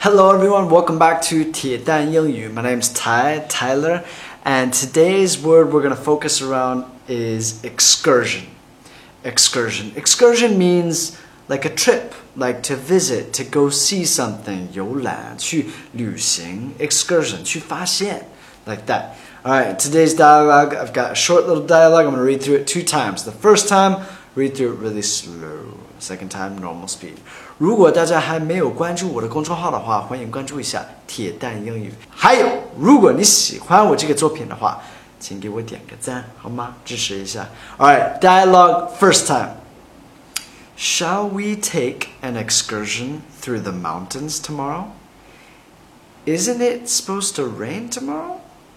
Hello everyone, welcome back to 铁蛋英语. My name's Tyler, and today's word we're going to focus around is excursion. Excursion means like a trip, like to visit, to go see something, 游览，去旅行, excursion, 去发现, like that. Alright, today's dialogue, I've got a short little dialogue, I'm going to read through it 2 times. The first time, read through it really slow. Second time, normal speed. 如果大家还没有关注我的公众号的话，欢迎关注一下铁蛋英语。还有，如果你喜欢我这个作品的话，请给我点个赞，好吗？支持一下。Alright, dialogue first time. Shall we take an excursion through the mountains tomorrow? Isn't it supposed to rain tomorrow?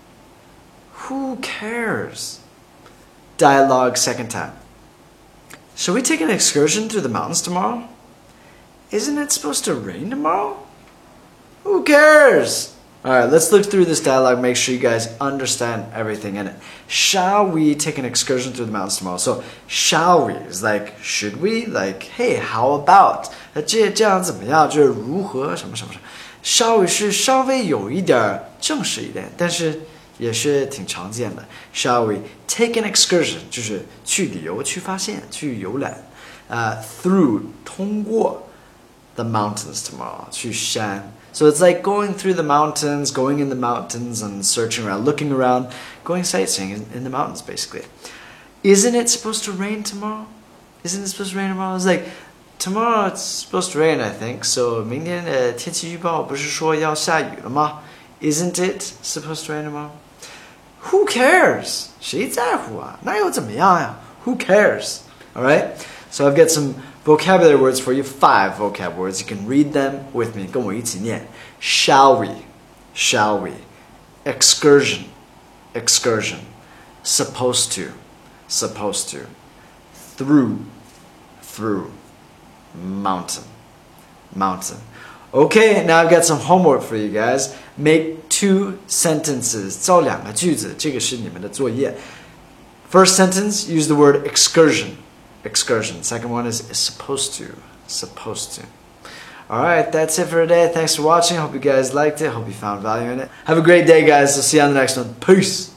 Who cares? Dialogue second time. Shall we take an excursion through the mountains tomorrow? Isn't it supposed to rain tomorrow? Who cares? Alright, let's look through this dialogue, make sure you guys understand everything in it. Shall we take an excursion through the mountains tomorrow? So, shall we is like, should we? Like, hey, how about? 这样怎么样？就是如何什么什么什么。Shall we 是稍微有一点正式一点，但是也是挺常见的。Shall we take an excursion 就是去旅游、去发现、去游览。Through 通过 the mountains tomorrow 去山。So it's like going through the mountains, going in the mountains and searching around, looking around, going sightseeing in the mountains basically. Isn't it supposed to rain tomorrow? Isn't it supposed to rain tomorrow? It's like, tomorrow it's supposed to rain, I think. So 明天的天气预报不是说要下雨了吗？ Isn't it supposed to rain tomorrow? Who cares? 谁在乎啊？那又怎么样呀？ Who cares? Alright? So I've got some vocabulary words for you, 5 vocab words. You can read them with me. 跟我一起念. Shall we? Shall we? Excursion. Excursion. Supposed to. Supposed to. Through. Through. Mountain. Mountain. Okay, now I've got some homework for you guys. Make 2 sentences. 造2个句子，这个是你们的作业。First sentence, use the word excursion. Excursion. Second one is supposed to. Supposed to. Alright, that's it for today. Thanks for watching. Hope you guys liked it. Hope you found value in it. Have a great day, guys. I'll see you on the next one. Peace.